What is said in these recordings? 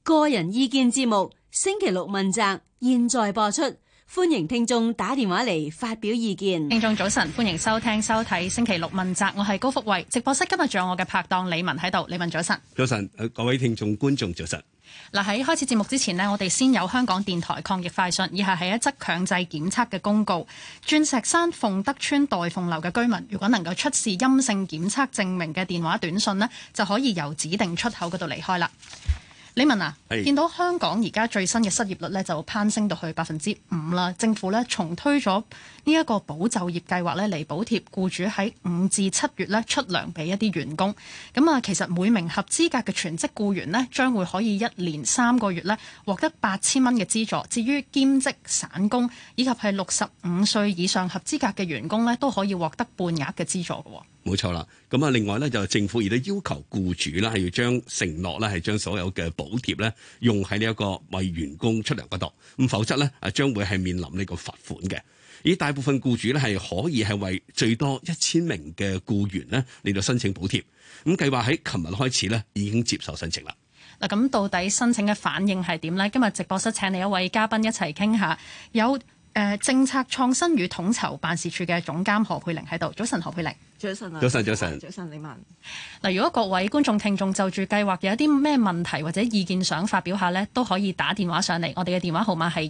個人意見節目星期六問責，現在播出，歡迎聽眾打電話嚟發表意見。 聽眾早晨，歡迎收聽收睇星期六問責，我係高福慧。直播室今日仲有我嘅拍檔李文喺度，李文早晨。 早晨，各位聽眾觀眾早晨。 嗱，喺開始節目之前呢，我哋先有香港電台抗疫快訊，以下係一則強制檢測嘅公告。鑽石山鳳德邨代鳳樓嘅居民，如果能夠出示陰性檢測證明嘅電話短訊呢，就可以由指定出口嗰度離開啦。李文啊，見到香港而家最新嘅失業率咧就攀升到去5%啦。政府咧重推咗呢一個保就業計劃咧嚟補貼僱主喺5至7月咧出糧俾一啲員工。咁啊，其實每名合資格嘅全職僱員呢，將會可以1年3個月咧獲得8000蚊嘅資助。至於兼職散工以及係65歲以上合資格嘅員工咧，都可以獲得半額嘅資助嘅。 冇錯啦，咁啊，另外咧就政府亦都要求僱主咧係要將承諾咧係將所有嘅補貼咧用喺呢一個為員工出糧嗰度，咁否則咧將會係面臨呢個罰款嘅。而大部分僱主咧係可以係為最多1000名嘅僱員咧嚟到申請補貼，咁計劃喺琴日開始咧已經接受申請啦。 嗱，咁到底申請嘅反應係點呢？今日直播室請嚟一位嘉賓一齊傾下，有政策創新與統籌辦事處嘅總監何佩玲喺度。早晨，何佩玲。 早晨啊！ 早晨，早晨， 早晨，李文。 嗱，如果各位觀眾聽眾就住計劃有啲咩問題或者意見想發表下呢，都可以打電話上嚟。我哋嘅電話號碼係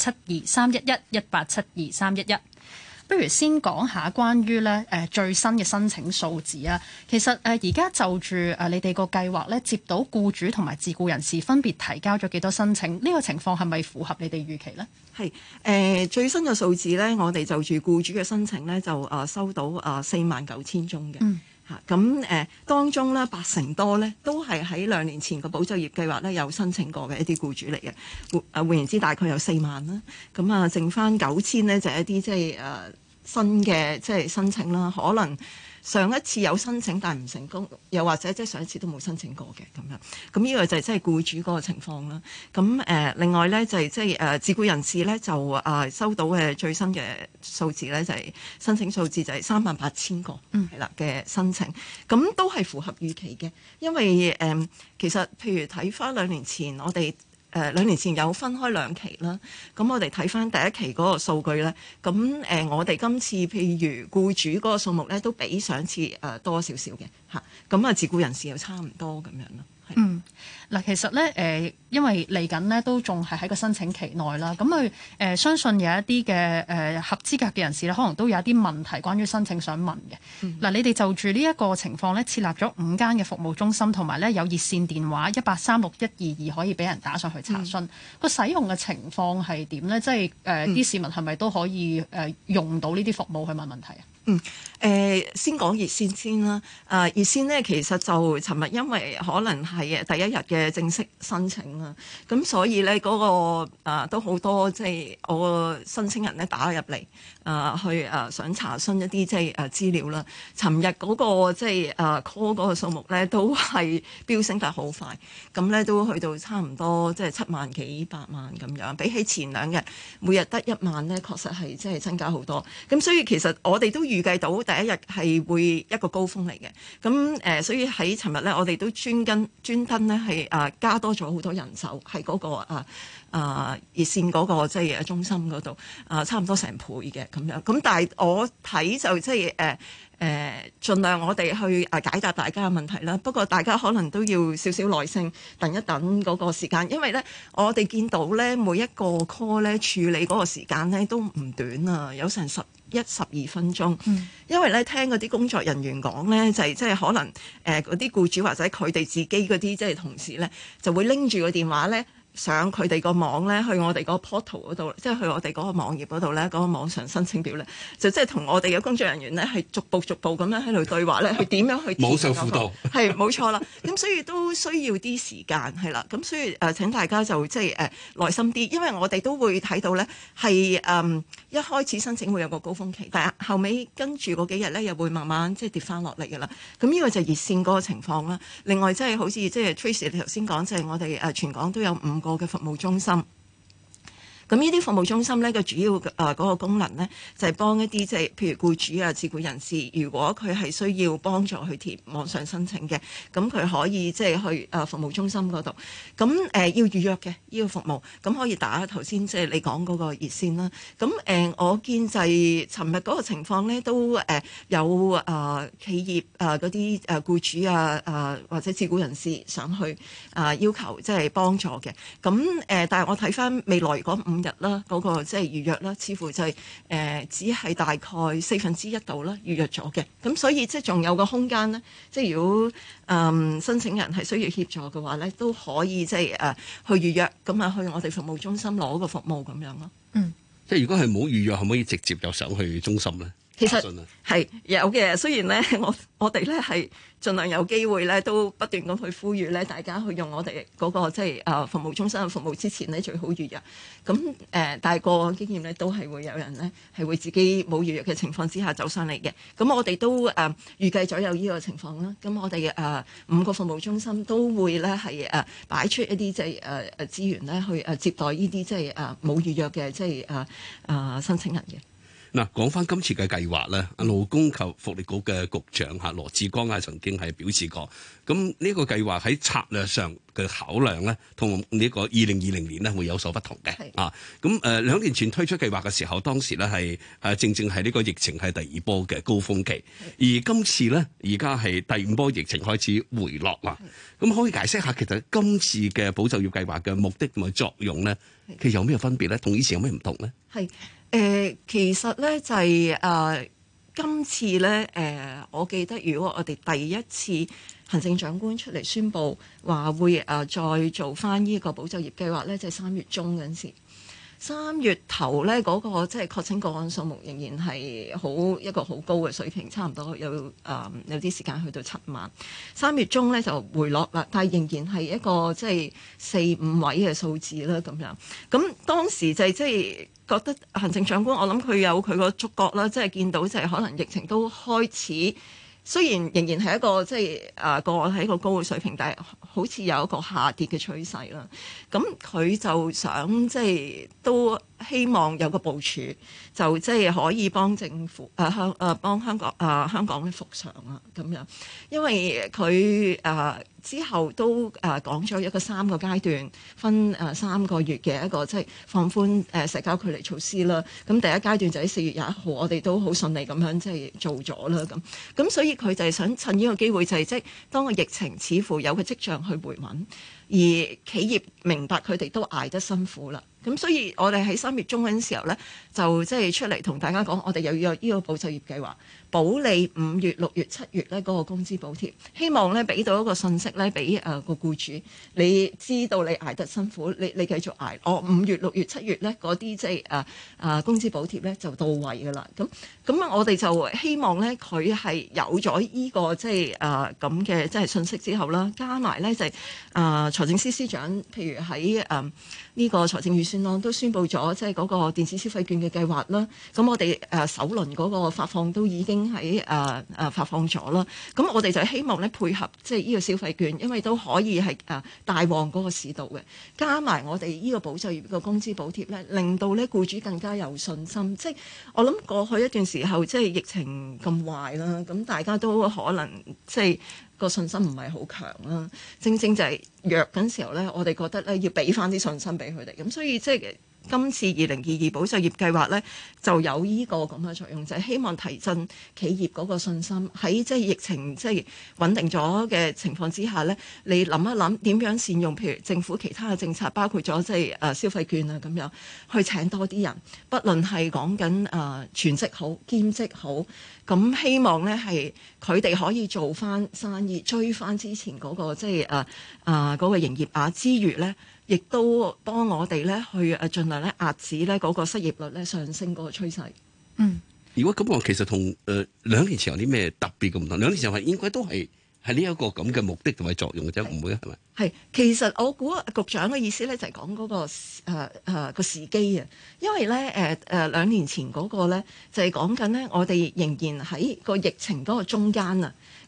1872311118723111。不如先講下關於咧最新嘅申請數字啊。其實而家就住你哋個計劃咧，接到僱主同埋自僱人士分別提交咗幾多申請？呢個情況係咪符合你哋預期呢？ 係最新嘅數字咧，我哋就住僱主嘅申請咧，就收到49000宗嘅。咁當中咧80%多咧都係喺2年前個保就業計劃咧有申請過嘅一啲僱主嚟嘅。換言之，大概有4萬啦。咁啊，剩翻9000咧就係一啲即係新嘅即係申請啦。可能上一次有申請但係唔成功，又或者即係上一次都冇申請過嘅咁樣。咁呢個就係即係僱主嗰個情況啦。咁另外咧就係即係自僱人士咧就收到嘅最新嘅數字咧就係申請數字就係38000個係啦嘅申請，咁都係符合預期嘅。因為其實譬如睇翻2年前我哋2年前有分開2期啦，咁我哋睇翻第一期嗰個數據咧，咁我哋今次譬如僱主嗰個數目咧都比上次多少少嘅嚇，咁啊自僱人士又差唔多咁樣咯。 嗱，其實咧因為嚟緊呢都仲係喺個申請期內啦，咁佢相信有一啲嘅合資格嘅人士咧，可能都有一啲問題關於申請想問嘅。嗱，你哋就住呢一個情況咧，設立咗5間嘅服務中心，同埋咧有熱線電話1836122可以俾人打上去查詢。個使用嘅情況係點咧？即係啲市民係咪都可以用到呢啲服務去問問題啊？ 先講熱線先啦。熱線呢，其實就尋日因為可能係第一日嘅正式申請啦，咁所以呢嗰個都好多即係我個申請人呢打入嚟去想查詢一啲即係資料啦。尋日嗰個即係call 嗰個數目呢都係飆升得好快，咁呢都去到差唔多即係7萬幾8萬咁樣，比起前2日每日得1萬呢，確實係即係增加好多。咁所以其實我哋都預計到第一日係會一個高峰嚟嘅，咁所以喺尋日咧，我哋都專登咧係加多咗好多人手喺嗰個熱線嗰個即係中心嗰度差唔多成倍嘅咁樣。咁但係我睇就即係盡量我哋去解答大家嘅問題啦。不過大家可能都要少少耐性，等一等嗰個時間，因為咧我哋見到咧每一個 call 咧處理嗰個時間咧都唔短啊，有成11-12分鐘。因為咧聽嗰啲工作人員講咧，就係即係可能嗰啲僱主或者佢哋自己嗰啲即係同事咧，就會拎住個電話咧。上佢哋個網咧，去我哋個 portal 嗰度，即係去我哋嗰個網頁嗰度咧，嗰個網上申請表咧，就即係同我哋嘅工作人員咧，係逐步咁樣喺度對話咧，去點樣去網上輔導係冇錯啦。咁所以都需要啲時間係啦。咁所以請大家就即係耐心啲，因為我哋都會睇到咧係一開始申請會有個高峰期，但係後尾跟住嗰幾日咧又會慢慢即係跌翻落嚟㗎啦。咁呢個就係熱線嗰個情況啦。另外即係好似即係 Tracy 你頭先講，即係我哋全港都有5個嘅服務中心， 咁呢啲服務中心咧嘅主要嗰個功能咧，就係幫一啲即係譬如僱主啊、自僱人士，如果佢係需要幫助去填網上申請嘅，咁佢可以即係去服務中心嗰度。咁要預約嘅呢個服務，咁可以打頭先即係你講嗰個熱線啦。咁我見就係尋日嗰個情況咧，都有企業嗰啲僱主或者自僱人士上去要求即係幫助嘅。咁但係我睇翻未來嗰5日啦，嗰個即係預約啦，似乎就係只係大概1/4度啦預約咗嘅。咁所以即係仲有個空間咧，即係如果申請人係需要協助嘅話咧，都可以即係去預約，咁去我哋服務中心攞個服務咁樣咯。 即係如果係冇預約，可唔可以直接就上去中心咧？ 其實係有嘅，雖然咧我哋咧係盡量有機會咧，都不斷咁去呼籲咧，大家去用我哋嗰個即係服務中心嘅服務之前咧，最好預約。咁但係個案經驗咧，都係會有人咧係會自己冇預約嘅情況之下走上嚟嘅。咁我哋都預計咗有呢個情況啦。咁我哋5個服務中心都會咧係擺出一啲即係資源咧去接待呢啲即係冇預約嘅即係申請人嘅。 嗱，講翻今次嘅計劃咧，勞工及福利局嘅局長羅致光曾經係表示過，咁呢個計劃喺策略上嘅考量咧，同呢個2020年咧會有所不同嘅。咁2年前推出計劃嘅時候，當時咧係正正係呢個疫情係第2波嘅高峰期，而今次咧而家係第5波疫情開始回落啦。咁可以解釋下，其實今次嘅保就業計劃嘅目的同埋作用咧，其實有咩分別咧？同以前有咩唔同咧？ 其實咧就係今次咧我記得如果我哋第一次行政長官出嚟宣布話會再做翻呢個保就業計劃咧，就係3月中嗰陣時。3月頭咧嗰個即係確診個案數目仍然係一個好高嘅水平，差唔多有啲時間去到7萬。3月中咧就回落啦，但係仍然係一個即係4-5位嘅數字啦咁樣。咁當時就係即係覺得行政長官，我諗佢有佢個觸覺啦，即係見到就係可能疫情都開始。雖然仍然係一個即係個案喺一個高嘅水平，但係好似有一個下跌嘅趨勢啦。咁佢就想即係都希望有個部署，就即係可以幫政府幫香港咧復常啊咁樣。因為佢之後都講咗一個3個階段，分3個月嘅一個即係放寬社交距離措施啦。咁第一階段就喺4月21號，我哋都好順利咁樣即係做咗啦咁所以佢就係想趁呢個機會，就係即係當個疫情似乎有個跡象去回穩，而企業明白佢哋都捱得辛苦啦。咁所以我哋喺3月中嗰陣時候咧，就即係出嚟同大家講，我哋又要有呢個保就業計劃，保你5月、6月、7月咧嗰個工資補貼，希望咧俾到一個信息咧俾個僱主，你知道你捱得辛苦，你繼續捱。我5月、6月、7月咧嗰啲即係工資補貼咧就到位㗎啦。咁我哋就希望咧佢係有咗呢個即係咁嘅即係信息之後啦，加埋咧就係財政司司長，譬如喺呢個財政預算案都宣布咗即係嗰個電子消費券嘅計劃啦。咁我哋首輪嗰個發放都已經喺發放咗啦。咁我哋就希望咧配合即係呢個消費券，因為都可以係帶旺嗰個市道嘅，加埋我哋呢個保就業嘅工資補貼咧，令到咧僱主更加有信心。即係我諗過去一段時候即係疫情咁壞啦，咁大家都可能即係個信心唔係好強啦。正正就係弱緊時候咧，我哋覺得咧要俾翻啲信心俾佢哋。咁所以即係今次2022保就業計劃咧，就有呢個咁嘅作用，就係希望提振企業嗰個信心。喺即係疫情即係穩定咗嘅情況之下咧，你諗一諗點樣善用，譬如政府其他嘅政策，包括咗即係消費券啊咁樣，去請多啲人，不論係講緊全職好、兼職好，咁希望咧係佢哋可以做翻生意，追翻之前嗰個即係嗰個營業額之餘咧，亦都幫我哋咧去盡量咧壓止咧嗰個失業率咧上升嗰個趨勢。 如果咁話，其實同2年前有啲咩特別嘅唔同？2年前係應該都係呢一個咁嘅目的同埋作用嘅啫，唔會係咪？ 係，其實我估局長嘅意思咧就係講嗰個個時機啊，因為咧2年前嗰個咧就係講緊咧，我哋仍然喺個疫情嗰個中間啊。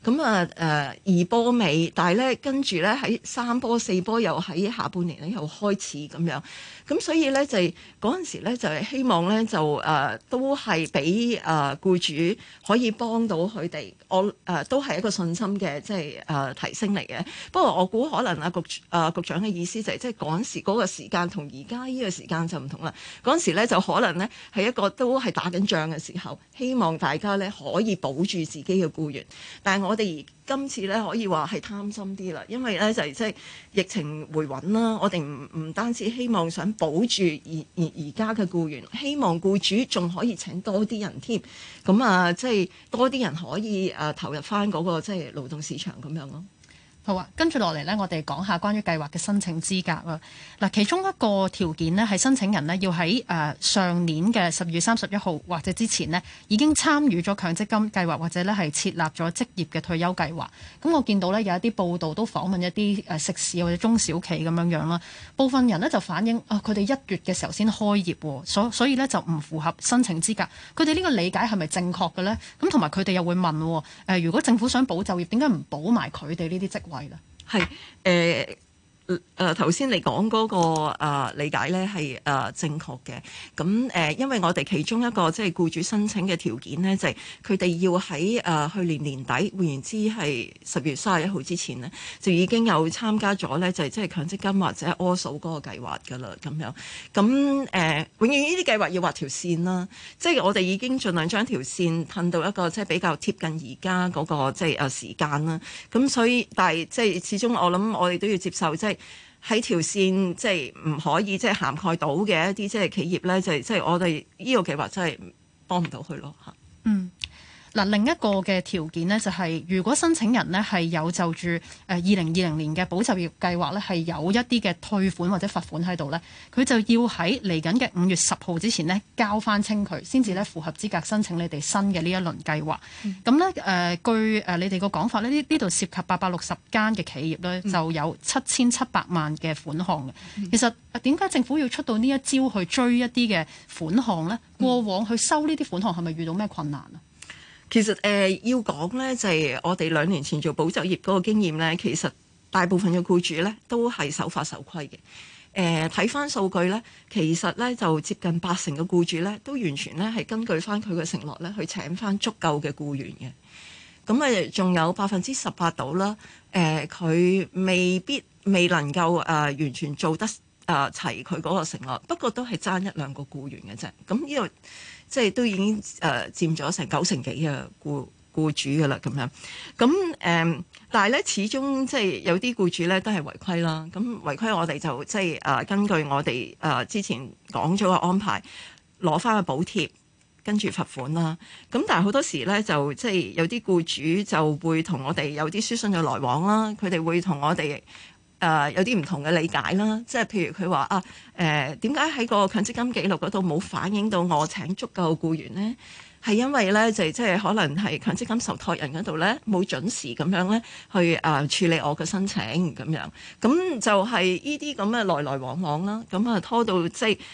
咁二波尾，但係咧跟住咧喺3波4波又喺下半年咧又開始咁樣，咁所以咧就係嗰陣時咧就係希望咧就都係俾僱主可以幫到佢哋，我都係一個信心嘅即係提升嚟嘅。不過我估可能局長嘅意思就係即係嗰陣時嗰個時間同而家呢個時間就唔同啦。嗰陣時咧就可能咧係一個都係打緊仗嘅時候，希望大家咧可以保住自己嘅僱員。但係我哋今次咧可以話係貪心啲啦，因為咧就係即係疫情回穩啦，我哋唔單止希望想保住而家嘅僱員，希望僱主仲可以請多啲人添。咁即係多啲人可以投入翻嗰個即係勞動市場咁樣咯。 好啊，跟住落嚟呢，我哋講下關於計劃嘅申請資格啦。嗱，其中一個條件呢，係申請人呢要喺上年嘅12月31號或者之前呢已經參與咗強積金計劃，或者呢係設立咗職業嘅退休計劃。咁我見到呢有一啲報道都訪問一啲食肆或者中小企咁樣樣啦。部分人呢就反映佢哋1月嘅時候先開業，所以呢就唔符合申請資格。佢哋呢個理解係咪正確嘅呢？咁同埋佢哋又會問如果政府想保就業，點解唔保埋佢哋呢啲職位？ 係頭先你講嗰個理解咧係正確嘅。咁因為我哋其中一個即係僱主申請嘅條件咧，就係佢哋要喺去年年底，換言之係10月31號之前咧，就已經有參加咗咧，就係即係強積金或者柯數嗰個計劃㗎啦。咁樣咁永遠呢啲計劃要畫條線啦。即係我哋已經盡量將條線褪到一個即係比較貼近而家嗰個即係時間啦。咁所以但係即係始終我諗我哋都要接受即係。喺條線即係唔可以即係涵蓋到嘅一啲即係企業咧，就係即係我哋呢個計劃真係幫唔到佢咯嚇。 嗱，另一個嘅條件呢，就係如果申請人呢係有就住2020年嘅保就業計劃呢係有一啲嘅退款或者罰款喺度呢，佢就要喺嚟緊嘅5月10號之前呢交翻清佢，先至呢符合資格申請你哋新嘅呢一輪計劃。咁呢，據你哋個講法呢，呢度涉及860間嘅企業呢，就有7700萬嘅款項嘅。其實點解政府要出到呢一招去追一啲嘅款項呢？過往去收呢啲款項係咪遇到咩困難啊？ 其實要講咧，就係我哋2年前做保就業嗰個經驗咧，其實大部分嘅僱主咧都係守法守規嘅。睇翻數據咧，其實咧就接近80%嘅僱主咧都完全咧係根據翻佢嘅承諾咧去請翻足夠嘅僱員嘅。咁仲有18%到啦，佢未能夠完全做得齊佢嗰個承諾，不過都係爭1、2個僱員嘅啫。咁呢度即係都已經佔咗成90%幾嘅僱主㗎啦，咁樣。咁但係咧，始終即係有啲僱主咧都係違規啦。咁違規我哋就即係根據我哋之前講咗嘅安排，攞翻個補貼，跟住罰款啦。咁但係好多時咧就即係有啲僱主就會同我哋有啲書信嘅來往啦，佢哋會同我哋有啲唔同嘅理解啦，即係譬如佢話點解喺個強積金記錄嗰度冇反映到我請足夠僱員呢？係因為咧就即係可能係強積金受託人嗰度咧冇準時咁樣咧去處理我嘅申請咁樣，咁就係呢啲咁嘅來來往往啦，咁拖到即係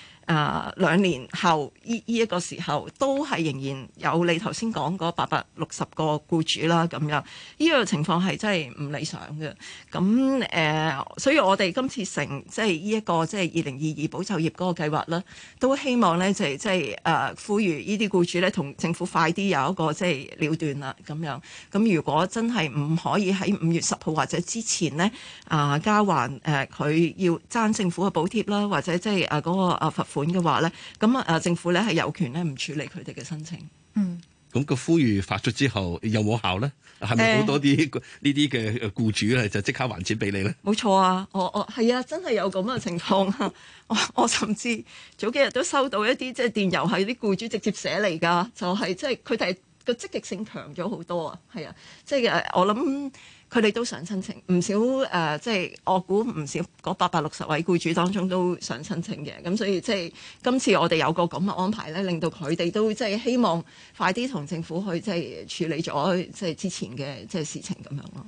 2年後呢一個時候都係仍然有你頭先講嗰860個僱主啦，咁樣呢個情況係真係唔理想嘅。咁所以我哋今次即係呢一個即係2022保就業嗰個計劃啦，都希望咧就係即係呼籲呢啲僱主咧同政府快啲有一個即係了斷啦，咁樣。咁如果真係唔可以喺5月10號或者之前呢交還佢要爭政府嘅補貼啦，或者即係嗰個罰款嘅話咧，咁政府咧係有權咧唔處理佢哋嘅申請。 咁個呼籲發出之後有冇效咧？係咪好多啲呢啲嘅僱主咧就即刻還錢俾你咧？ 冇錯啊，我係啊，真係有咁嘅情況啊！我甚至早幾日都收到一啲即係電郵係啲僱主直接寫嚟㗎，就係即係佢哋個積極性強咗好多啊！係啊，即係我諗。佢哋都想申請，唔少即係我估唔少嗰860位僱主當中都想申請嘅，咁所以即係今次我哋有個咁嘅安排咧，令到佢哋都即係希望快啲同政府去即係處理咗即係之前嘅即係事情咁樣咯。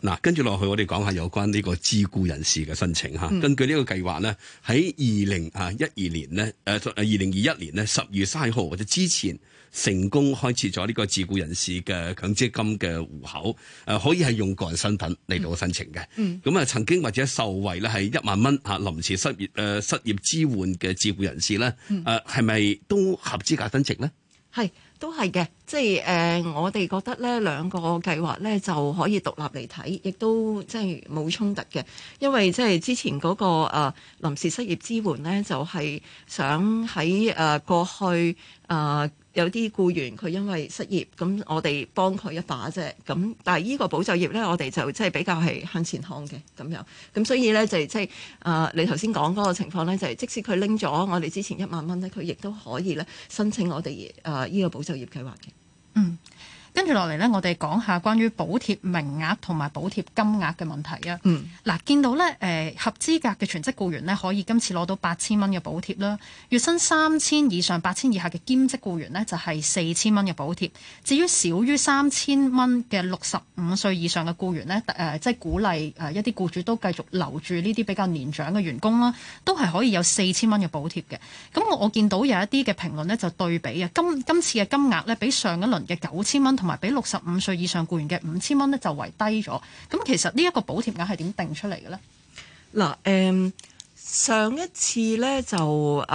嗱，跟住落去我哋講下有關呢個自僱人士嘅申請嚇。根據呢個計劃咧，喺2021年咧，2021年咧10月30號或者之前成功開設咗呢個自僱人士嘅強積金嘅戶口，可以係用個人身份嚟到申請嘅。咁啊，曾經或者受惠咧係1萬蚊臨時失業支援嘅自僱人士咧，係咪都合資格申請咧？ 係。都係嘅，即係我哋覺得咧兩個計劃咧就可以獨立嚟睇，亦都即係冇衝突嘅。因為即係之前嗰個臨時失業支援咧，就係想喺過去有啲僱員佢因為失業，咁我哋幫佢一把啫。咁但係呢個保就業咧，我哋就即係比較係向前看嘅咁樣。咁所以咧就即係你頭先講嗰個情況咧，就係即使佢拎咗我哋之前1萬蚊咧，佢亦都可以咧申請我哋呢個保就業計劃嘅。 嗯。跟住落嚟呢，我哋講下關於補貼名額同埋補貼金額嘅問題啊。嗱，見到呢合資格嘅全職僱員呢，可以今次攞到8000蚊嘅補貼啦。月薪3000以上、8000以下嘅兼職僱員呢，就係4000蚊嘅補貼。至於少於3000蚊嘅65歲以上嘅僱員呢，即係鼓勵一啲僱主都繼續留住呢啲比較年長嘅員工啦，都係可以有4000蚊嘅補貼嘅。咁我見到有一啲嘅評論呢，就對比啊，今次嘅金額呢，比上一輪嘅9000蚊同埋比65歲以上僱員嘅5000蚊咧就為低咗。咁其實呢一個補貼額係點定出嚟嘅咧？ 嗱，上一次咧就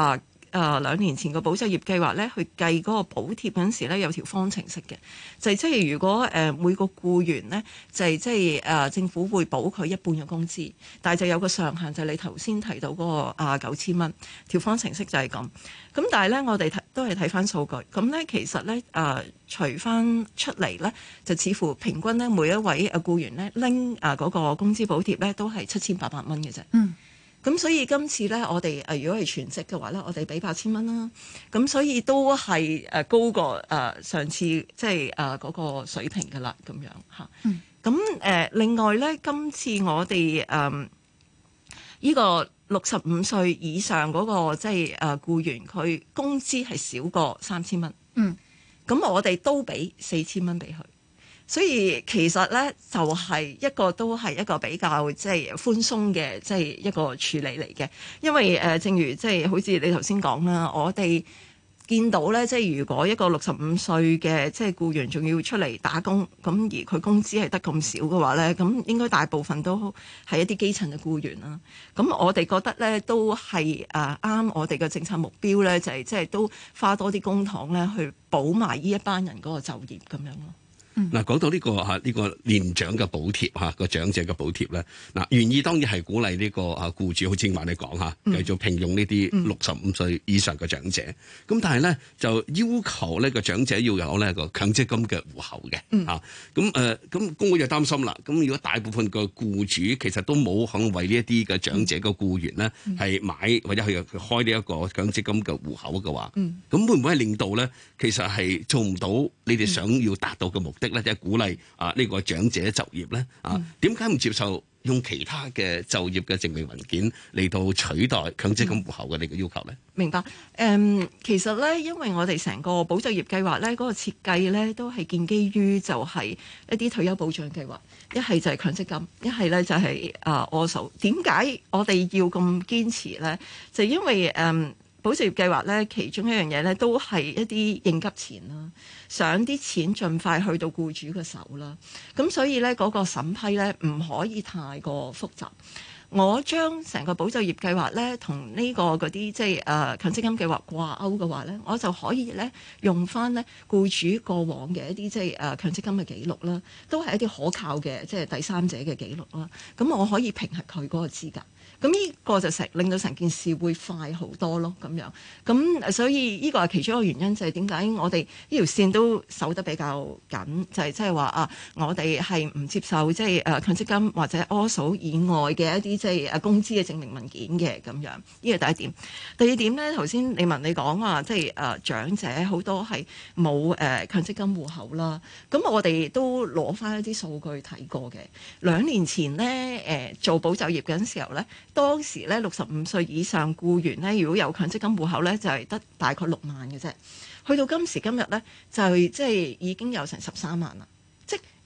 2年前個保就業計劃咧，去計嗰個補貼嗰陣時咧，有條方程式嘅，就係即係如果每個僱員咧，就係即係政府會補佢一半嘅工資，但係就有個上限，就係你頭先提到嗰個9000蚊條方程式就係咁。咁但係咧，我哋都係睇翻數據，咁咧其實咧除翻出嚟咧，就似乎平均咧每一位僱員咧拎嗰個工資補貼咧都係7800蚊嘅啫。咁所以今次咧，我哋如果係全職嘅話咧，我哋俾8000蚊啦。咁所以都係高過上次即係嗰個水平㗎啦，咁樣嚇。咁另外咧，今次我哋呢個65歲以上嗰個即係僱員，佢工資係少過3000蚊。咁我哋都俾4000蚊俾佢。所以其實咧就係都係一個比較即係寬鬆嘅即係一個處理嚟嘅，因為正如即係好似你頭先講啦，我哋見到咧即係如果一個65歲嘅即係僱員仲要出嚟打工，咁而佢工資係得咁少嘅話咧，咁應該大部分都係一啲基層嘅僱員啦。咁我哋覺得咧都係啱我哋嘅政策目標咧，就係即係都花多啲公帑咧去補埋呢一班人嗰個就業咁樣咯。 嗱，講到呢個年長嘅補貼個長者嘅補貼咧，嗱原意當然係鼓勵呢個僱主，好似話你講繼續聘用呢啲65歲以上嘅長者。咁但係咧就要求呢個長者要有呢個強積金嘅戶口嘅。咁工會就擔心啦。咁如果大部分嘅僱主其實都冇肯為呢一啲嘅長者嘅僱員咧係買或者去開呢一個強積金嘅戶口嘅話，咁會唔會係令到咧其實係做唔到你哋想要達到嘅目的？即係鼓勵呢個長者就業咧點解唔接受用其他嘅就業嘅證明文件嚟到取代強積金戶口嘅呢個要求咧？ 明白。其實咧，因為我哋成個保就業計劃咧，嗰個設計咧都係建基於就係一啲退休保障計劃，一係就係強積金，一係咧就係ORSO。點解我哋要咁堅持咧？就因為保就業計劃咧，其中一樣嘢咧都係一啲應急錢啦，想啲錢盡快去到僱主嘅手啦。咁所以咧嗰個審批咧唔可以太過複雜。我將成個保就業計劃咧同呢個嗰啲即係強積金計劃掛鈎嘅話咧，我就可以咧用翻咧僱主過往嘅一啲即係強積金嘅記錄啦，都係一啲可靠嘅即係第三者嘅記錄啦。咁我可以評核佢嗰個資格。咁呢個就令到成件事會快好多咯，咁樣。咁所以呢個係其中一個原因，就係點解我哋呢條線都守得比較緊，就係即係話我哋係唔接受即係強積金或者 ORSO 以外嘅一啲即係工資嘅證明文件嘅咁樣。呢個第一點。第二點咧，頭先你講話即係長者好多係冇強積金戶口啦。咁我哋都攞翻一啲數據睇過嘅。2年前咧做保就業嗰陣時候咧。當時咧65歲以上僱員咧，如果有強積金戶口咧，就係得大概6萬嘅啫。去到今時今日咧，就即係已經有成13萬啦。即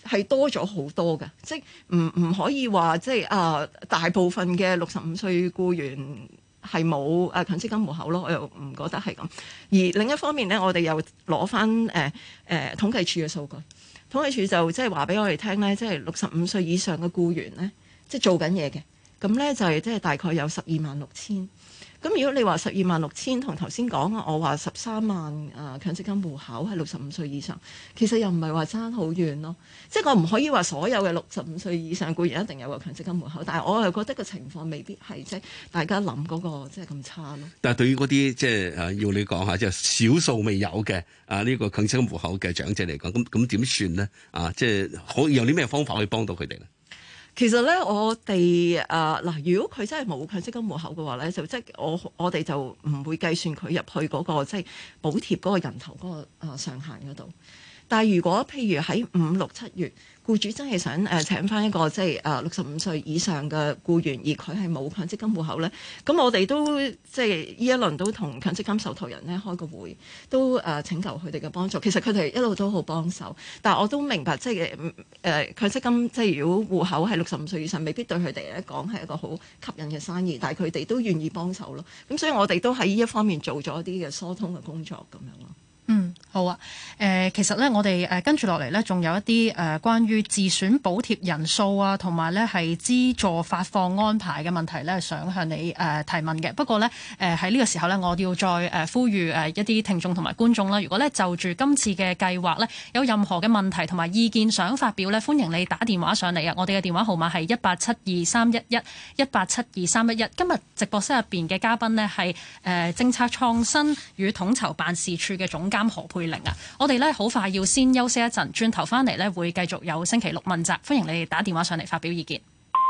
係多咗好多嘅，即係唔可以話即係大部分嘅65歲僱員係冇強積金戶口咯，我又唔覺得係咁。而另一方面咧，我哋又攞翻統計處嘅數據，統計處就即係話俾我哋聽咧，即係65歲以上嘅僱員咧，即係做緊嘢嘅，咁咧就係即係大概有126000。咁如果你話126000同頭先講我話13萬強積金戶口係65歲以上，其實又唔係話爭好遠咯。即係我唔可以話所有嘅65歲以上僱員一定有個強積金戶口，但係我又覺得個情況未必係即係大家諗嗰個即係咁差咯。 但係對於嗰啲即係要你講下即係少數未有嘅呢個強積金戶口嘅長者嚟講，咁點算咧？即係可以有啲咩方法可以幫到佢哋咧？ 其實咧，我哋嗱，如果佢真係冇強積金戶口嘅話咧，就即係我哋就唔會計算佢入去嗰個即係補貼嗰個人頭嗰個上限嗰度。但係如果譬如喺5、6、7月，僱主真係想請翻一個即係65歲以上嘅僱員，而佢係冇強積金戶口咧，咁我哋都即係呢一輪都同強積金受託人咧開個會，都請求佢哋嘅幫助。其實佢哋一路都好幫手，但係我都明白即係強積金即係如果戶口係65歲以上，未必對佢哋嚟講係一個好吸引嘅生意，但係佢哋都願意幫手咯。咁所以我哋都喺呢一方面做咗一啲嘅疏通嘅工作咁樣咯。 好啊。其實咧，我哋跟住落嚟咧，仲有一啲關於自選補貼人數啊，同埋咧係資助發放安排嘅問題咧，想向你提問嘅。不過咧，喺呢個時候咧，我要再呼籲一啲聽眾同埋觀眾啦。如果咧就住今次嘅計劃咧，有任何嘅問題同埋意見想發表咧，歡迎你打電話上嚟啊！我哋嘅電話號碼係1872311，1872311。今日直播室入邊嘅嘉賓呢係政策創新與統籌辦事處嘅總監何佩玲啊。我哋咧好快要先休息一陣，轉頭翻嚟咧會繼續有星期六問責，歡迎你哋打電話上嚟發表意見。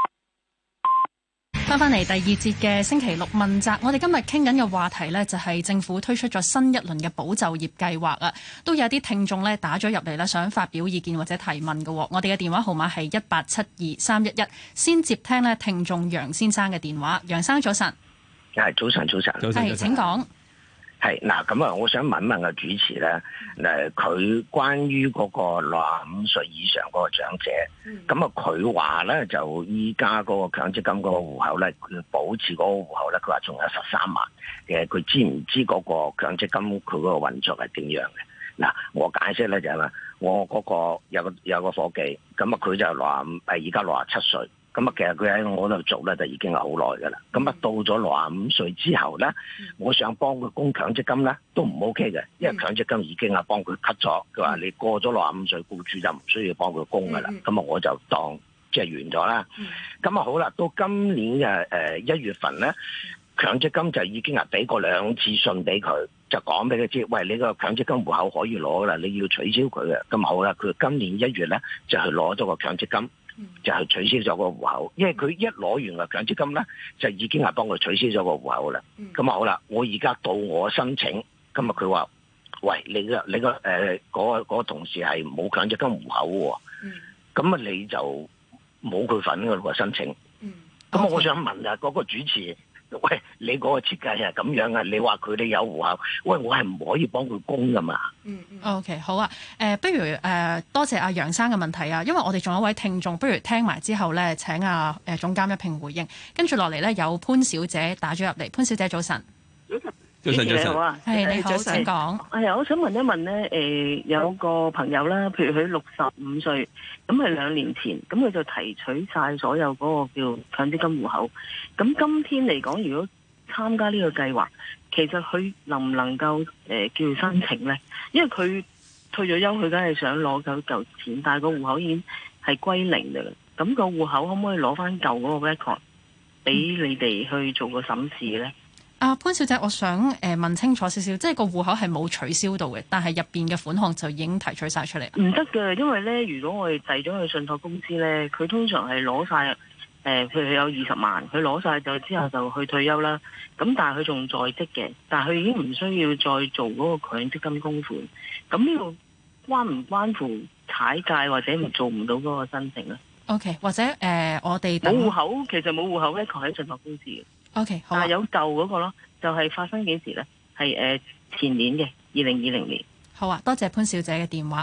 翻嚟第二節嘅星期六問責，我哋今日傾緊嘅話題呢，就係政府推出咗新一輪嘅保就業計劃啊，都有啲聽眾呢打咗入嚟啦，想發表意見或者提問嘅。我哋嘅電話號碼係1872311，先接聽呢聽眾楊先生嘅電話。楊生早晨。 係早晨， 係請講。 係嗱，咁啊，我想問個主持咧，佢關於嗰個65歲以上嗰個長者，咁啊佢話咧就依家嗰個強積金嗰個戶口咧，佢保持嗰個戶口咧，佢話仲有13萬嘅，佢知唔知嗰個強積金佢嗰個運作係點樣嘅？嗱，我解釋咧就係話，我嗰個有個夥計，咁啊佢就而家67歲。咁啊，其實佢喺我度做咧，就已經係好耐噶啦。咁啊，到咗65歲之後咧，我想幫佢供強積金咧，都唔 OK 嘅，因為強積金已經係幫佢 cut 咗。佢話你過咗65歲，僱主就唔需要幫佢供噶啦。咁啊，我就當即係完咗啦。咁啊，好啦，到今年嘅1月份咧，強積金就已經係俾過2次信俾佢，就講俾佢知，喂，你個強積金戶口可以攞噶啦，你要取消佢嘅。咁好啦，佢今年1月咧就去攞咗個強積金。就係取消咗個戶口，因為佢一攞完個強積金咧，就已經係幫佢取消咗個戶口啦。咁啊好啦，我而家到我申請，今日佢話：喂，你個嗰個同事係冇強積金戶口喎，咁啊你就冇佢份㗎喎申請。咁我想問下嗰個主持。喂，你嗰個設計係咁樣啊？你話佢哋有戶口，喂，我係唔可以幫佢供噶嘛 ？OK， 好啊。不如多謝阿楊生嘅問題啊，因為我哋仲有一位聽眾，不如聽埋之後咧，請總監一併回應。跟住落嚟咧，有潘小姐打咗入嚟。潘小姐早晨。 早晨， 好啊，係你好，請講。 我想問一問咧，有個朋友啦，譬如佢65歲，咁係2年前，咁佢就提取晒所有嗰個叫強積金戶口。咁今天嚟講，如果參加呢個計劃，其實佢能唔能夠叫申請咧？因為佢退咗休，佢梗係想攞夠嚿錢，但係個戶口已經係歸零㗎啦。咁個戶口可唔可以攞翻舊嗰個 record 俾你哋去做個審視咧？ 潘小姐，我想問清楚少少，即係個戶口係冇取消到嘅，但係入邊嘅款項就已經提取晒出嚟。 唔得嘅，因為咧，如果我哋遞咗去信託公司咧，佢通常係攞晒譬如佢有20萬，佢攞晒咗之後就去退休啦。咁但係佢仲在職嘅，但係佢已經唔需要再做嗰個強積金供款。咁呢個關唔關乎踩界或者做唔到嗰個申請咧 ？OK， 或者我哋冇戶口，其實冇戶口咧，佢喺信託公司嘅。 OK， 好。 但係有舊嗰個咯，就係發生幾時咧？係前年嘅2020年。 好啊，多謝潘小姐嘅電話。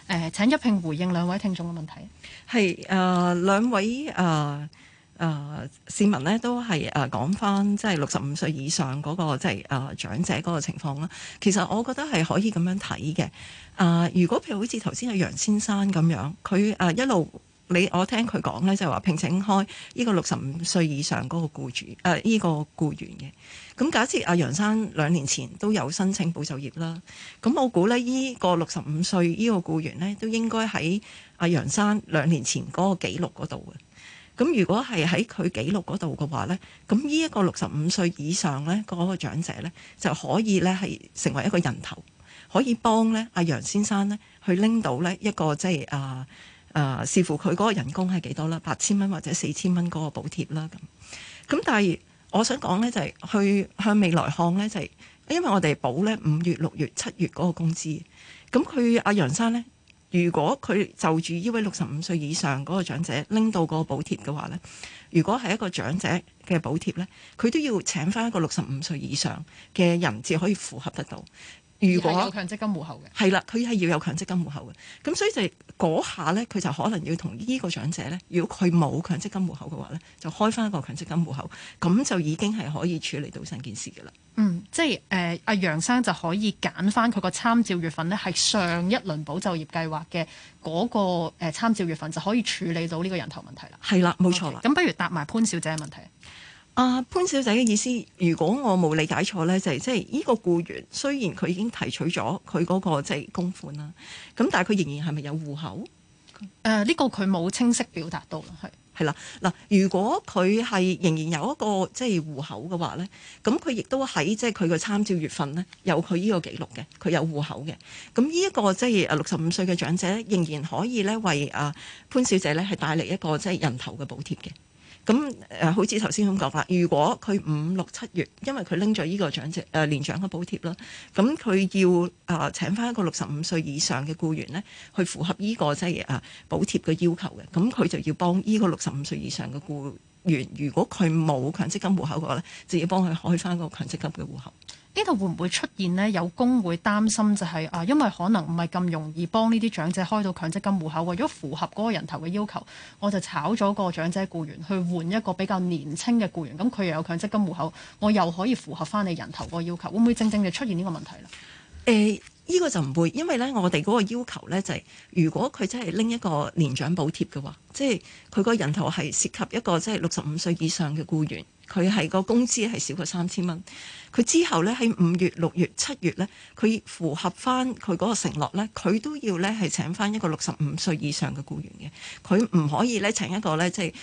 請一併回應兩位聽眾嘅問題。 係兩位市民呢都係講翻即係65歲以上嗰個即係長者嗰個情況啦。其實我覺得係可以咁樣睇嘅。如果譬如好似頭先阿楊先生咁樣，佢一路我聽佢講咧，就係話聘請開呢個65歲以上嗰個僱主呢個僱員嘅。咁假設阿楊生2年前都有申請保就業啦，咁我估咧呢個65歲呢個僱員咧都應該喺阿楊生2年前嗰個記錄嗰度嘅。咁如果係喺佢記錄嗰度嘅話咧，咁呢一個65歲以上咧嗰個長者咧就可以咧係成為一個人頭，可以幫咧阿楊先生咧去拎到咧一個即係視乎佢嗰個人工係幾多啦，8000蚊或者4000蚊嗰個補貼啦咁。但係我想講咧就係去向未來看咧就係，因為我哋補咧5月、6月、7月嗰個工資，咁佢阿楊生咧。如果佢就住呢位65歲以上嗰個長者拎到個補貼嘅話呢，如果係一個長者嘅補貼呢，佢都要請翻一個65歲以上嘅人至可以符合得到。如果有強積金戶口嘅， 係啦，佢係要有強積金戶口嘅，咁所以就嗰下呢，佢就可能要同呢個長者呢，如果佢冇強積金戶口嘅話呢，就開翻一個強積金戶口，咁就已經係可以處理到成件事嘅啦。 即係阿楊生就可以揀翻佢個參照月份呢，係上一輪保就業計劃嘅嗰個參照月份，就可以處理到呢個人頭問題啦。 係啦，冇錯啦。 咁不如答埋潘小姐嘅問題。 潘小姐嘅意思，如果我冇理解錯呢，就係即係呢個僱員雖然佢已經提取咗佢嗰個即係供款啦，咁但係佢仍然係咪有戶口？ 呢個佢冇清晰表達到啦， 係啦。嗱，如果佢係仍然有一個即係戶口嘅話呢，咁佢亦都喺即係佢嘅參照月份呢，有佢呢個記錄嘅，佢有戶口嘅。咁呢一個即係65歲嘅長者仍然可以呢為潘小姐呢係帶嚟一個即係人頭嘅補貼嘅。咁好似頭先咁講啦，如果佢5、6、7月，因為佢拎咗呢個長者年長嘅補貼啦，咁佢要請翻一個65歲以上嘅僱員呢，去符合呢個即係補貼嘅要求嘅，咁佢就要幫呢個65歲以上嘅僱員，如果佢冇強積金戶口嘅話呢，就要幫佢開翻個強積金嘅戶口。 呢度會唔會出現呢？有工會擔心就係因為可能唔係咁容易幫呢啲長者開到強積金戶口，為咗符合嗰個人頭嘅要求，我就炒咗個長者僱員去換一個比較年輕嘅僱員，咁佢又有強積金戶口，我又可以符合翻你人頭嗰個要求，會唔會正正就出現呢個問題呢？ 呢個就唔會，因為咧我哋嗰個要求咧就係，如果佢真係拎一個年長補貼嘅話，即係佢個人頭係涉及一個即係65歲以上嘅僱員，佢係個工資係少過3000蚊，佢之後咧喺5月、6月、7月咧，佢符合翻佢嗰個承諾咧，佢都要咧係請翻一個65歲以上嘅僱員嘅，佢唔可以咧請一個咧即係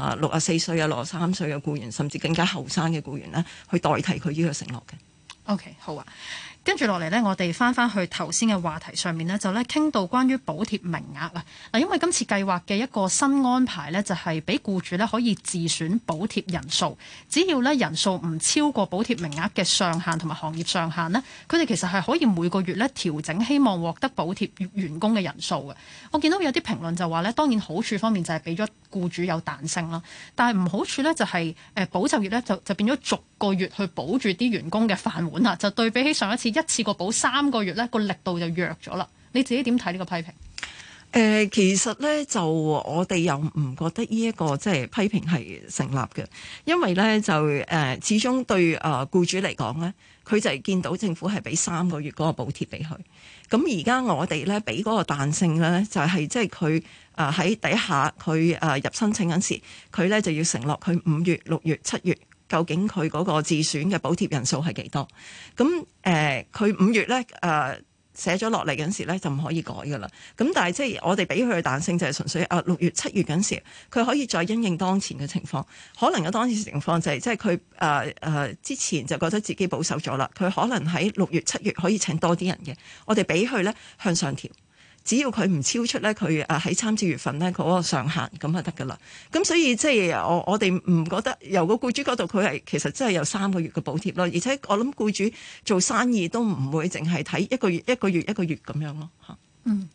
64歲啊、63歲嘅僱員，甚至更加後生嘅僱員咧去代替佢呢個承諾嘅。 OK， 好啊。跟住落嚟呢，我哋翻去頭先嘅話題上面呢，就咧傾到關於補貼名額啊。嗱，因為今次計劃嘅一個新安排呢，就係俾僱主呢可以自選補貼人數，只要呢人數唔超過補貼名額嘅上限同埋行業上限呢，佢哋其實係可以每個月呢調整希望獲得補貼員工嘅人數嘅。我見到有啲評論就話呢，當然好處方面就係俾咗僱主有彈性啦，但係唔好處呢就係保就業呢就變咗逐個月去保住啲員工嘅飯碗啦，就對比起上一次一次過補3個月呢個力度就弱咗啦。你自己點睇呢個批評？ 其實咧就我哋又唔覺得呢一個即係批評係成立嘅，因為咧就始終對僱主嚟講咧，佢就係見到政府係俾3個月嗰個補貼俾佢。咁而家我哋咧俾嗰個彈性咧，就係即係佢喺第一下佢入申請嗰時，佢咧就要承諾佢5月、6月、7月究竟佢嗰個自選嘅補貼人數係幾多？咁佢5月咧寫咗落嚟嗰陣時咧就唔可以改噶啦。咁但係即係我哋俾佢嘅彈性就係純粹6月、7月嗰陣時，佢可以再因應當前嘅情況。可能嘅當前情況就係即係佢之前就覺得自己保守咗啦，佢可能喺6月、7月可以請多啲人嘅。我哋俾佢咧向上調。只要佢唔超出咧，佢喺參照月份咧嗰個上限咁就得噶啦。咁所以即係我哋唔覺得由個僱主嗰度佢係其實真係有3個月嘅補貼咯。而且我諗僱主做生意都唔會淨係睇一個月咁樣咯嚇。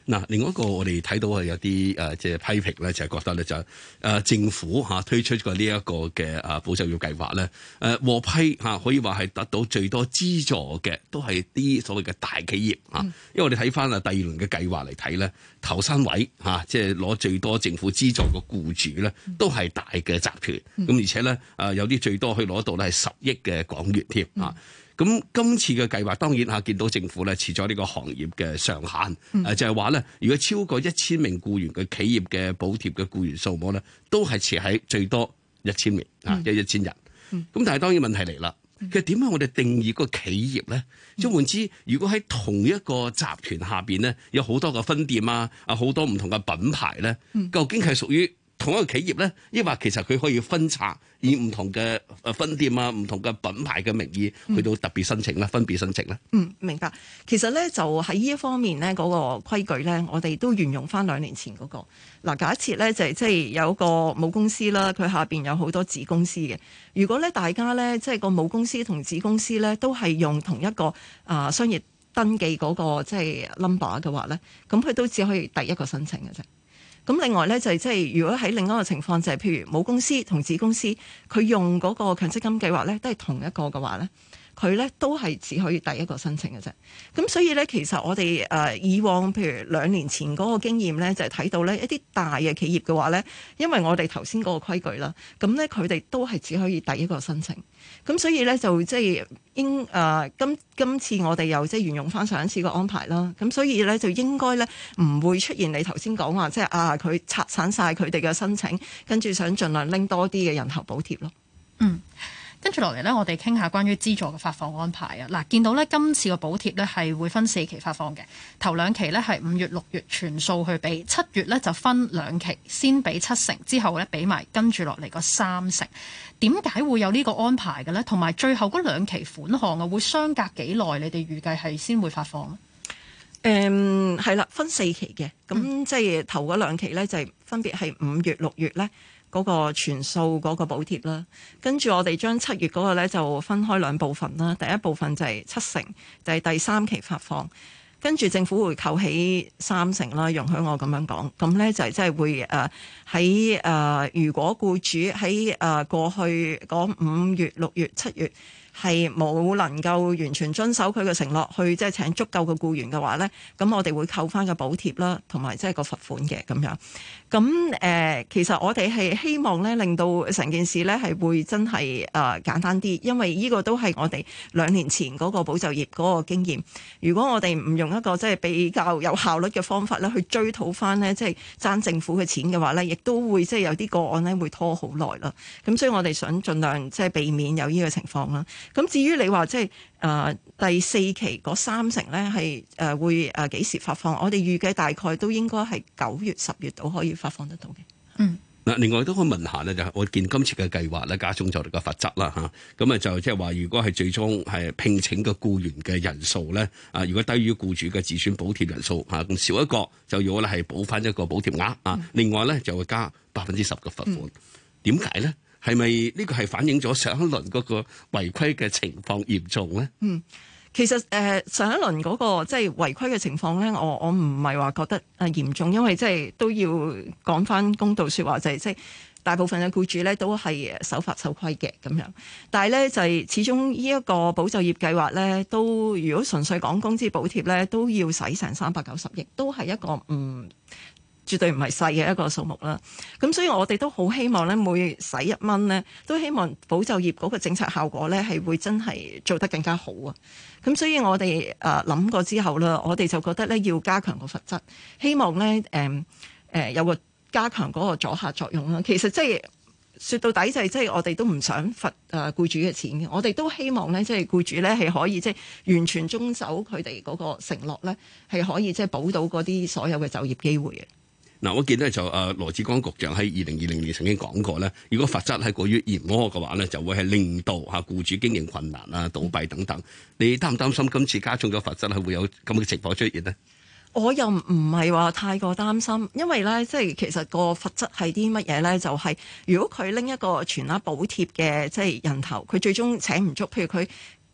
嗱，另外一個我哋睇到係有啲即係批評咧，就係覺得咧就政府推出過呢一個嘅保就業計劃咧，獲批可以話係得到最多資助嘅都係啲所謂嘅大企業因為我哋睇翻第二輪嘅計劃嚟睇咧，頭3位即係攞最多政府資助嘅僱主咧，都係大嘅集團，咁而且咧有啲最多可以攞到咧係10億嘅港元添咁今次嘅計劃當然見到政府咧設咗呢個行業嘅上限，就係話咧，如果超過1000名僱員嘅企業嘅補貼嘅僱員數目咧，都係設喺最多1000名1000人。咁但係當然問題嚟啦，其實點解我哋定義個企業咧？即係換之，如果喺同一個集團下邊咧，有好多個分店好多唔同嘅品牌咧，究竟係屬於同一個企業咧，抑或其實佢可以分拆，以唔同嘅分店唔同嘅品牌嘅名義去到特別申請啦，分別申請啦。 明白。其實咧就喺呢一方面咧，嗰個規矩咧，我哋都沿用翻2年前嗰個。嗱，假設咧就係即係有一個母公司啦，佢下邊有好多子公司嘅。如果咧大家咧即係個母公司同子公司咧都係用同一個商業登記嗰個即係 number 嘅話咧，咁佢都只可以第一個申請嘅啫。咁另外咧就係即係如果喺另一個情況就係譬如母公司同子公司佢用嗰個強積金計劃咧都係同一個嘅話咧，佢咧都係只可以第一個申請嘅啫。咁所以咧其實我哋以往譬如2年前嗰個經驗咧就係睇到咧一啲大嘅企業嘅話咧，因為我哋頭先嗰個規矩啦，咁咧佢哋都係只可以第一個申請。咁所以咧就即係今次我哋又即係沿用翻上一次個安排啦。咁所以咧就應該咧唔會出現你頭先講話即係佢拆散晒佢哋嘅申請，跟住想盡量拎多啲嘅人頭補貼咯。 跟住落嚟呢，我哋傾下關於資助嘅發放安排啊！嗱，見到呢今次嘅補貼呢係會分4期發放嘅，頭2期呢係5月、6月全數去俾，7月呢就分2期，先俾70%，之後呢俾埋跟住落嚟個30%。點解會有呢個安排嘅呢？同埋最後嗰2期款項會相隔幾耐？你哋預計係先會發放呢？ 係啦，分4期嘅，咁即係頭嗰2期呢，就係分別係5月、6月呢。嗰個全數嗰個補貼啦，跟住我哋將7月嗰個咧就分開2部分啦。第一部分就係70%，就係第3期發放，跟住政府會扣起30%啦。容許我咁樣講，咁咧就係即係會喺如果僱主喺過去嗰5月、6月、7月係冇能夠完全遵守佢嘅承諾，去即係請足夠嘅僱員嘅話咧，咁我哋會扣翻個補貼啦，同埋即係個罰款嘅咁樣。咁其實我哋係希望咧，令到成件事咧係會真係簡單啲，因為呢個都係我哋2年前嗰個保就業嗰個經驗。如果我哋唔用一個即係比較有效率嘅方法咧，去追討翻咧即係爭政府嘅錢嘅話咧，亦都會即係有啲個案咧會拖好耐啦。咁所以我哋想盡量即係避免有呢個情況啦。咁至於你話即係第4期嗰30%咧係會幾時發放？我哋預計大概都應該係9月、10月都可以發放得到嘅。 嗱，另外都可以問下咧，就係我見今次嘅計劃咧加重咗我哋個罰則啦嚇，咁就即係話，如果係最終係聘請嘅僱員嘅人數咧，如果低於僱主嘅自選補貼人數咁少一個，就要咧係補翻一個補貼額另外咧就會加10%嘅罰款。點解咧？係咪呢個係反映咗上一輪嗰個違規嘅情況嚴重咧？ 其實上一輪嗰個即係違規嘅情況咧，我唔係話覺得嚴重，因為即係都要講翻公道説話，就係即係大部分嘅僱主咧都係守法守規嘅咁樣。但係咧就係始終呢一個保就業計劃咧，都如果純粹講工資補貼咧，都要使成390億，都係一個絕對唔係細嘅一個數目啦。咁所以我哋都好希望咧，每使1蚊咧，都希望保就業嗰個政策效果咧係會真係做得更加好啊。咁所以我哋諗過之後啦，我哋就覺得咧要加強個罰則，希望咧有個加強嗰個阻嚇作用啦。其實即係說到底就係即係我哋都唔想罰僱主嘅錢嘅，我哋都希望咧即係僱主咧係可以即係完全遵守佢哋嗰個承諾咧，係可以即係保到嗰啲所有嘅就業機會嘅。 嗱，我記得就羅致光局長喺2020年曾經講過咧，如果罰則係過於嚴苛嘅話咧，就會係令到僱主經營困難啊、倒閉等等。你擔唔擔心今次加重咗罰則係會有咁嘅情況出現呢？ 我又唔係話太過擔心，因為咧即係其實個罰則係啲乜嘢咧？就係如果佢拎一個全額補貼嘅即係人頭，佢最終請唔足，譬如佢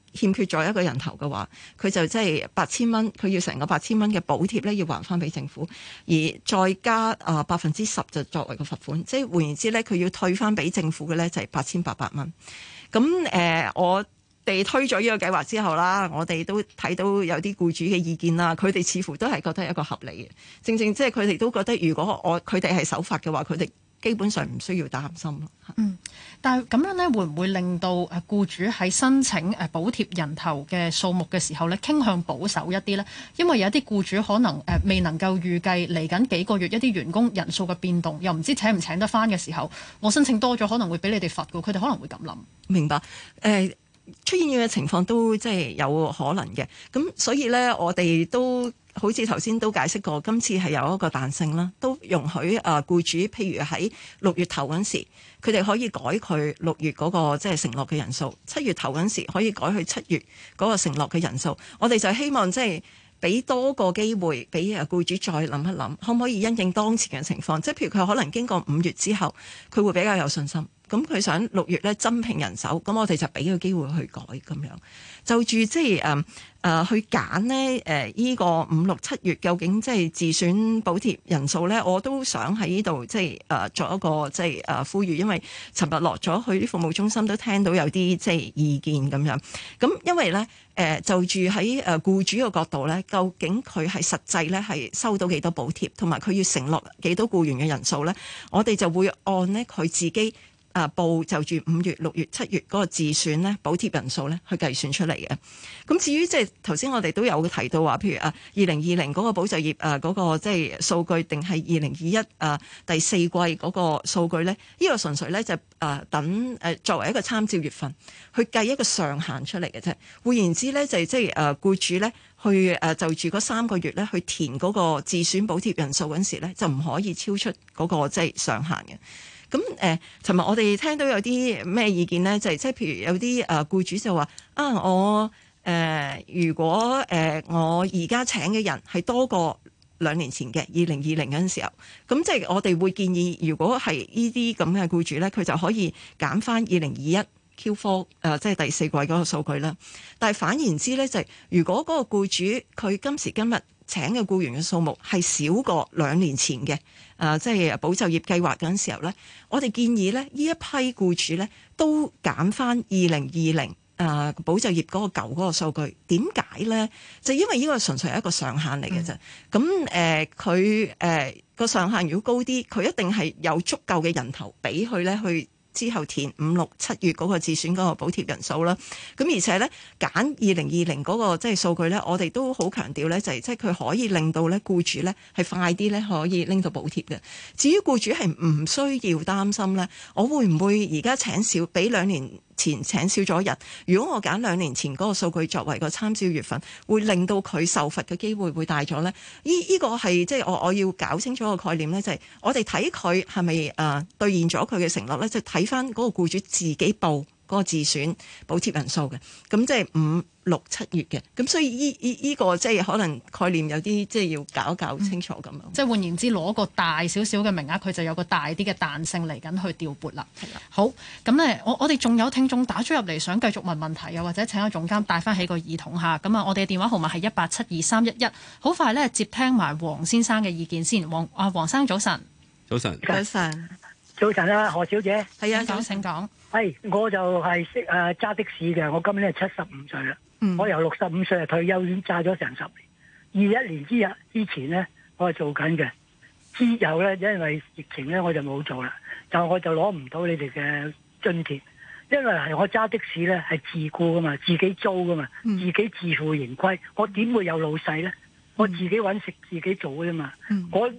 欠缺咗一個人頭嘅話，佢就即係8000蚊，佢要成個8000蚊嘅補貼咧，要還翻俾政府，而再加10%就作為個罰款，即係換言之咧，佢要退翻俾政府嘅咧就係8800蚊。咁我哋推咗呢個計劃之後啦，我哋都睇到有啲僱主嘅意見啦，佢哋似乎都係覺得係一個合理嘅，正即係佢哋都覺得如果佢哋係守法嘅話，佢哋基本上唔需要擔心咯。 但係咁樣咧，會唔會令到僱主喺申請補貼人頭嘅數目嘅時候咧，傾向保守一啲咧？因為有啲僱主可能未能夠預計嚟緊幾個月一啲員工人數嘅變動，又唔知請唔請得翻嘅時候，我申請多咗可能會俾你哋罰㗎，佢哋可能會咁諗。 明白。出現嘅情況都即係有可能嘅，咁所以咧，我哋都好似頭先都解釋過，今次係有一個彈性啦，都容許僱主，譬如喺6月頭嗰陣時，佢哋可以改佢6月嗰個即係承諾嘅人數，7月頭嗰陣時可以改去7月嗰個承諾嘅人數。我哋就希望即係俾多個機會俾僱主再諗一諗，可唔可以因應當前嘅情況？即係譬如佢可能經過5月之後，佢會比較有信心。咁佢想6月咧增聘人手，咁我哋就俾個機會去改咁樣。就住即係去揀呢依個5、6、7月究竟即係自選補貼人數咧，我都想喺呢度即係作一個即係呼籲，因為尋日落咗去啲服務中心都聽到有啲即係意見咁樣。咁因為咧就住喺僱主嘅角度咧，究竟佢係實際咧係收到幾多補貼，同埋佢要承諾幾多僱員嘅人數咧，我哋就會按呢佢自己報就住5月、6月、7月嗰個自選咧補貼人數咧去計算出嚟嘅。咁至於即係頭先我哋都有提到話，譬如2020嗰個保就業嗰個即係數據，定係2021第四季嗰個數據咧？呢個純粹咧就等作為一個參照月份去計一個上限出嚟嘅啫。換言之咧，就係即係僱主咧去就住嗰3個月咧去填嗰個自選補貼人數嗰陣時咧，就唔可以超出嗰個即係上限嘅。咁尋日我哋聽到有啲咩意見咧？就係即係譬如有啲僱主就話我如果我而家請嘅人係多過2年前嘅2020嗰陣時候，咁即係我哋會建議，如果係呢啲咁嘅僱主咧，佢就可以減翻2021 Q4 即係第4季嗰個數據啦。但係反言之咧，就係如果嗰個僱主佢今時今日請嘅僱員嘅數目係少過2年前嘅即係保就業計劃嗰陣時候咧，我哋建議咧呢一批僱主咧都減翻2020保就業嗰個舊嗰個數據。點解咧？就因為呢個純粹係一個上限嚟嘅啫。咁佢個上限如果高啲，佢一定係有足夠嘅人頭俾佢咧去之後填5、6、7月嗰個自選嗰個補貼人數啦。咁而且咧揀2020嗰個即係數據咧，我哋都好強調咧，就係即係佢可以令到咧僱主咧係快啲咧可以拎到補貼嘅。至於僱主係唔需要擔心咧，我會唔會而家請少比2年前請少咗人？如果我揀2年前嗰個數據作為個參照月份，會令到佢受罰嘅機會會大咗咧？呢個係即係我要搞清楚個概念咧，就係我哋睇佢係咪兌現咗佢嘅承諾咧，就睇翻嗰個僱主自己報嗰個自選補貼人數嘅，咁即係5、6、7月嘅，咁所以呢個即係可能概念有啲即係要搞清楚咁樣。 即係換言之，攞個大少少嘅名額，佢就有個大啲嘅彈性嚟緊去調撥啦。係啦，好，咁咧，我哋仲有聽眾打咗入嚟，想繼續問問題，又或者請個總監帶翻起個耳筒下。咁我哋嘅電話號碼係1872311。好快咧，接聽埋黃先生嘅意見先。黃生早晨。早晨。 早晨。 早晨啊，何小姐。 係啊， 請講。 係，我就係識揸的士嘅，我今年係75歲啦。我由65歲退休，已經揸咗成10年。21年之前咧，我係做緊嘅。之後咧，因為疫情咧，我就冇做啦。我就攞唔到你哋嘅津貼，因為係我揸的士咧係自僱噶嘛，自己租噶嘛，自己自負盈虧。我點會有老細咧？我自己揾食自己做嘅啫嘛。我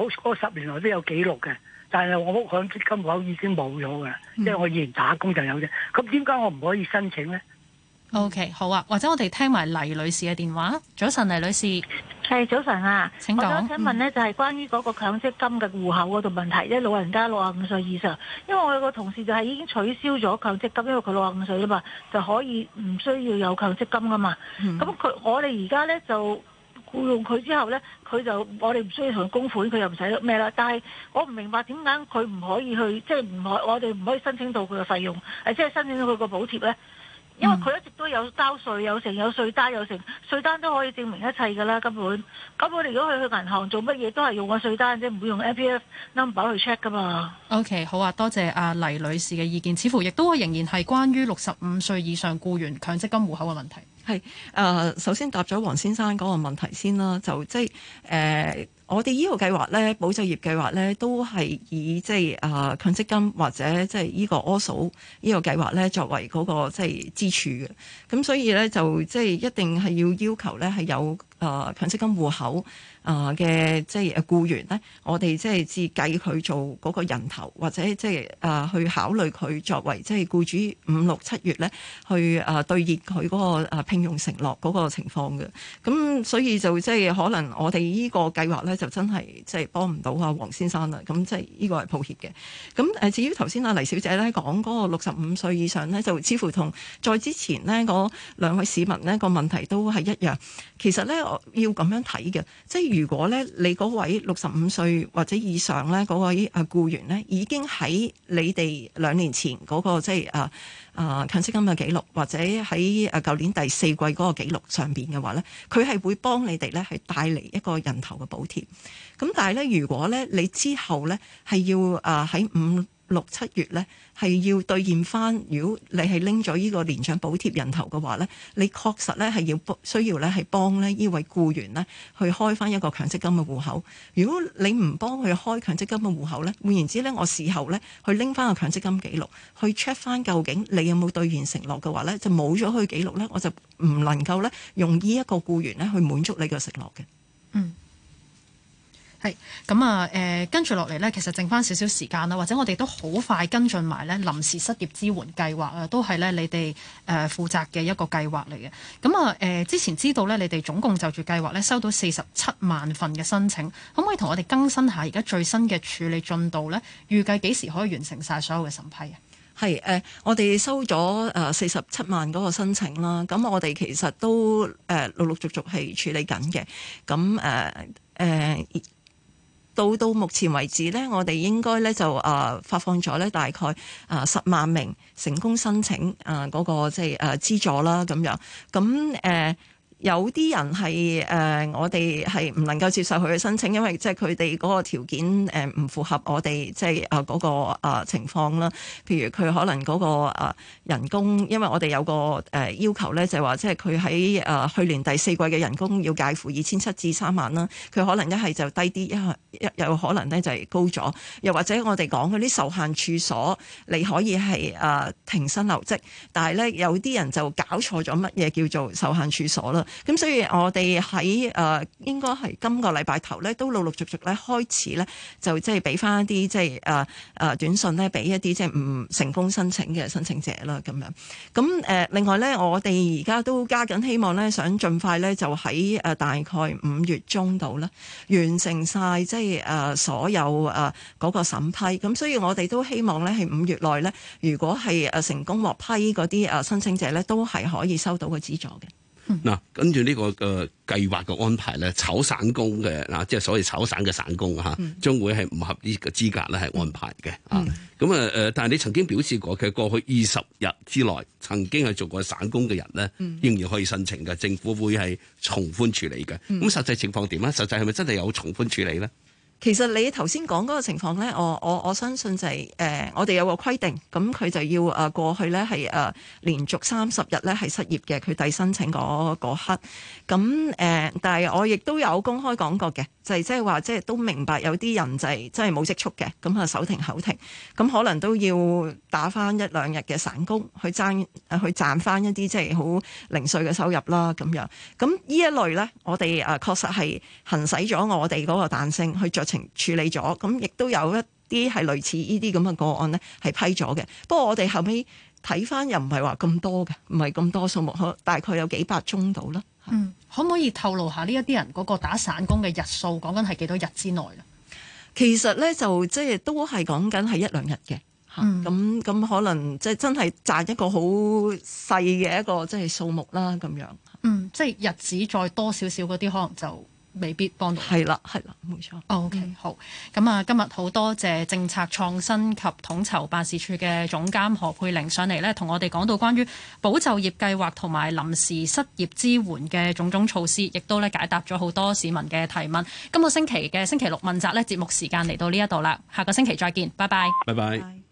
10年來都有記錄嘅。但係我屋響積金戶口已經冇咗㗎，因為我以前打工就有啫。咁點解我唔可以申請呢？ OK， 好啊，或者我哋聽埋黎女士嘅電話。早晨，黎女士。 係早晨啊， 請講。 我想請問呢，就係關於嗰個強積金嘅戶口嗰度問題，即係老人家65歲以上。因為我有個同事就係已經取消咗強積金，因為佢65歲啦嘛，就可以唔需要有強積金噶嘛。咁我哋而家呢就僱用佢之後呢，佢就我哋唔需要同佢供款，佢又唔使咩啦。但係我唔明白點解佢唔可以去，即係我哋唔可以申請到佢嘅費用，即係申請到佢個補貼呢？因為佢一直都該有交稅，有稅單，稅單都可以證明一切㗎啦。根本如果佢去銀行做乜嘢都係用個稅單啫，唔會用 MPF number 去 check 㗎嘛。 OK， 好啊，多謝阿黎女士嘅意見，似乎亦都仍然係關於65歲以上僱員強積金戶口嘅問題。 係首先答咗黃先生嗰個問題先啦，就即係我哋呢個計劃咧，保就業計劃咧，都係以即係強積金或者即係呢個 ASO 呢個計劃咧作為嗰個即係支柱嘅。咁所以咧就即係一定係要求咧係有強積金戶口嘅即係僱員咧，我哋即係至計佢做嗰個人頭，或者即係去考慮佢作為即係僱主5、6、7月咧去兌現佢嗰個聘用承諾嗰個情況嘅。咁所以就即係可能我哋呢個計劃咧就真係即係幫唔到阿黃先生啦。咁即係呢個係抱歉嘅。咁至於頭先阿黎小姐咧講嗰個65歲以上咧，就似乎同再之前呢嗰兩位市民呢個問題都係一樣。其實咧我要咁樣睇嘅，即係如果咧你嗰位65歲或者以上咧嗰位僱員咧已經喺你哋2年前嗰個即係強積金嘅記錄，或者喺舊年第4季嗰個記錄上邊嘅話咧，佢係會幫你哋咧係帶嚟一個人頭嘅補貼。咁但係咧，如果咧你之後咧係要喺5、6、7月咧係要兌現翻，如果你係拎咗呢個年長補貼人頭嘅話咧，你確實咧係需要咧係幫咧呢位僱員咧去開翻一個強積金嘅戶口。如果你唔幫佢開強積金嘅戶口咧，換言之咧，我事後咧去拎翻個強積金記錄去 check 翻究竟你有冇兌現承諾嘅話咧，就冇咗佢記錄咧，我就唔能夠咧用呢一個僱員咧去滿足你嘅承諾嘅。 嗯。係咁啊！跟住落嚟呢，其實剩翻少少時間啦，或者我哋都好快跟進埋呢臨時失業支援計劃啊，都係呢你哋負責嘅一個計劃嚟嘅。咁啊之前知道呢，你哋總共就住計劃呢收到47萬份嘅申請，可唔可以同我哋更新下而家最新嘅處理進度呢？預計幾時可以完成晒所有嘅審批啊？ 係我哋收咗47萬嗰個申請啦，咁我哋其實都陸陸續續係處理緊嘅。咁到目前為止咧，我哋應該咧就發放咗咧大概10萬名成功申請嗰個即係資助啦咁樣。咁有啲人係我哋係唔能夠接受佢嘅申請，因為即係佢哋嗰個條件唔符合我哋即係嗰個情況啦。譬如佢可能嗰個人工，因為我哋有個要求咧，就係話即係佢喺去年第4季嘅人工要介乎2700至3萬啦。佢可能一係就低啲，一有可能咧就係高咗。又或者我哋講嗰啲受限處所，你可以係停薪留職，但係咧有啲人就搞錯咗乜嘢叫做受限處所啦。咁所以我哋喺應該係今個禮拜頭咧，都陸陸續續咧開始咧，就即係俾翻一啲即係短信咧，俾一啲即係唔成功申請嘅申請者啦咁樣。咁另外咧，我哋而家都加緊希望咧，想盡快咧就喺大概5月中度啦，完成晒即係所有嗰個審批。咁所以我哋都希望咧係5月內咧，如果係成功獲批嗰啲申請者咧，都係可以收到個資助嘅。 嗱，跟住呢個計劃嘅安排咧，炒散工嘅即係所謂炒散嘅散工將會係唔合呢個資格咧係安排嘅咁但係你曾經表示過，佢過去20日之內曾經係做過散工嘅人咧，仍然可以申請嘅，政府會係從寬處理嘅。咁實際情況點咧？實際係咪真係有從寬處理咧？ 其實你頭先講嗰個情況咧，我相信就係我哋有個規定，咁佢就要過去咧係連續30日咧係失業嘅，佢遞申請嗰刻。咁但係我亦都有公開講過嘅，就係即係話即係都明白有啲人就係真係冇積蓄嘅，咁手停口停，咁可能都要打翻1、2日嘅散工去賺翻一啲即係好零碎嘅收入啦咁樣。咁呢一類咧，我哋確實係行使咗我哋嗰個彈性去酌情處理咗，咁亦都有一啲係類似呢啲咁嘅個案呢係批咗嘅。不過我哋後尾睇翻又唔係話咁多嘅，唔係咁多數目，大概有幾百宗到啦。 可唔可以透露下呢一啲人嗰個打散工嘅日數，講緊係幾多日之內咧？ 其實咧就即係都係講緊係1、2日嘅。咁可能即係真係賺一個好細嘅一個即係數目啦咁樣。 即係日子再多少少嗰啲，可能就未必幫到。 係啦，冇錯。 OK，好。咁啊，今日好多謝政策創新及統籌辦事處嘅總監何佩玲上嚟咧，同我哋講到關於保就業計劃同埋臨時失業支援嘅種種措施，亦都咧解答咗好多市民嘅提問。今個星期嘅星期六問責咧，節目時間嚟到呢一度啦，下個星期再見，拜拜。 拜拜。